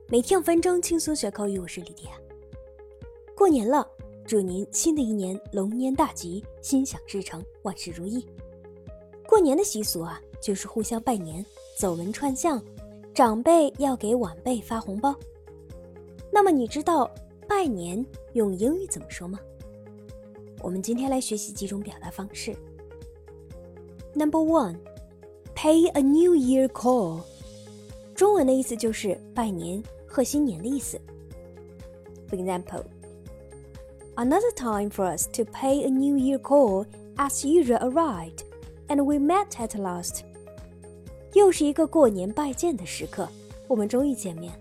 每天5分钟轻松学口语，我是李迪亚。过年了，祝您新的一年龙年大吉，心想事成，万事如意。过年的习俗啊，就是互相拜年，走门串巷，长辈要给晚辈发红包。那么你知道拜年用英语怎么说吗？我们今天来学习几种表达方式。Number 1, pay a New Year call。中文的意思就是拜年、贺新年的意思。For example, another time for us to pay a New Year call as usual arrived, and we met at last. 又是一个过年拜见的时刻，我们终于见面。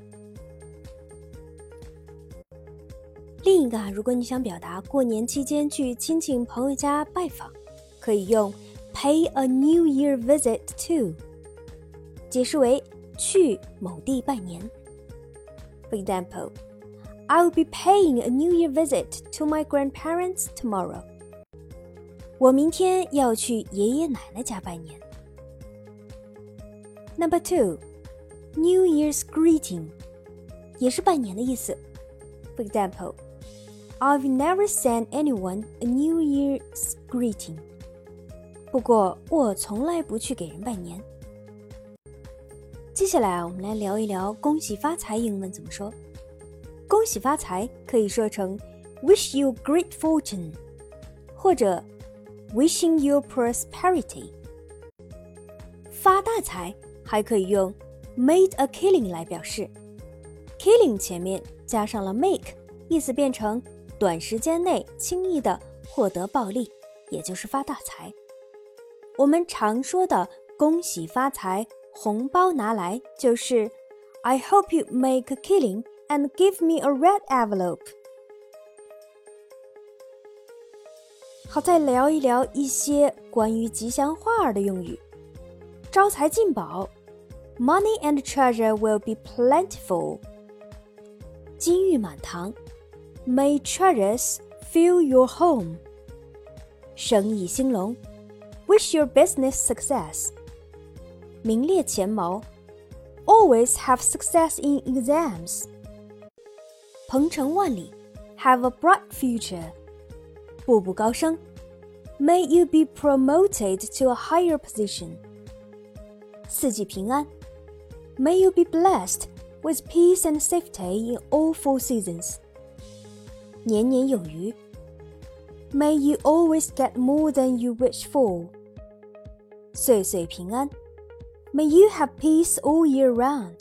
另一个如果你想表达过年期间去亲戚朋友家拜访，可以用 pay a New Year visit to， 解释为去某地拜年。For example, I will be paying a New Year visit to my grandparents tomorrow. 我明天要去爷爷奶奶家拜年。Number 2, New Year's greeting， 也是拜年的意思。For example, I've never sent anyone a New Year's greeting. 不过我从来不去给人拜年。接下来我们来聊一聊恭喜发财英文怎么说。恭喜发财可以说成 wish you great fortune， 或者 wishing you prosperity。 发大财还可以用 made a killing 来表示， killing 前面加上了 make， 意思变成短时间内轻易的获得暴利，也就是发大财。我们常说的恭喜发财，红包拿来，就是 I hope you make a killing and give me a red envelope。 好，再聊一聊一些关于吉祥话的用语。招财进宝， Money and treasure will be plentiful。 金玉满堂， May treasures fill your home。 生意兴隆， Wish your business success。名列前茅， Always have success in exams。 鹏程万里， Have a bright future。 步步高升， May you be promoted to a higher position。 四季平安， May you be blessed with peace and safety in all 4 seasons。 年年有余， May you always get more than you wish for。 岁岁平安， May you have peace all year round。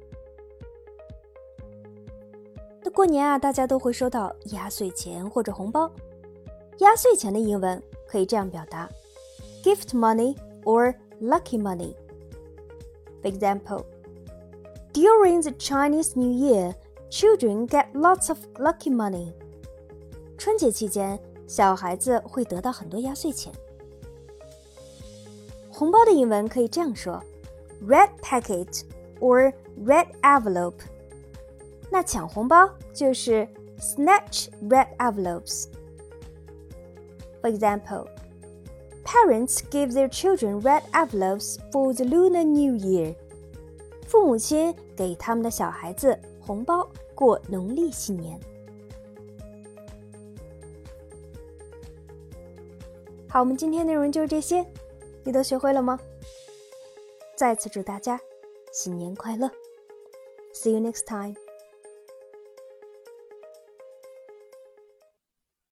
那过年啊，大家都会收到压岁钱或者红包。压岁钱的英文可以这样表达 gift money or lucky money。 For example, during the Chinese New Year, children get lots of lucky money。 春节期间，小孩子会得到很多压岁钱。红包的英文可以这样说Red packet or red envelope。 那抢红包就是 snatch red envelopes。 For example, parents give their children red envelopes for the Lunar New Year。 父母亲给他们的小孩子红包过农历新年。好，我们今天内容就是这些，你都学会了吗？再次祝大家新年快乐 ！See you next time.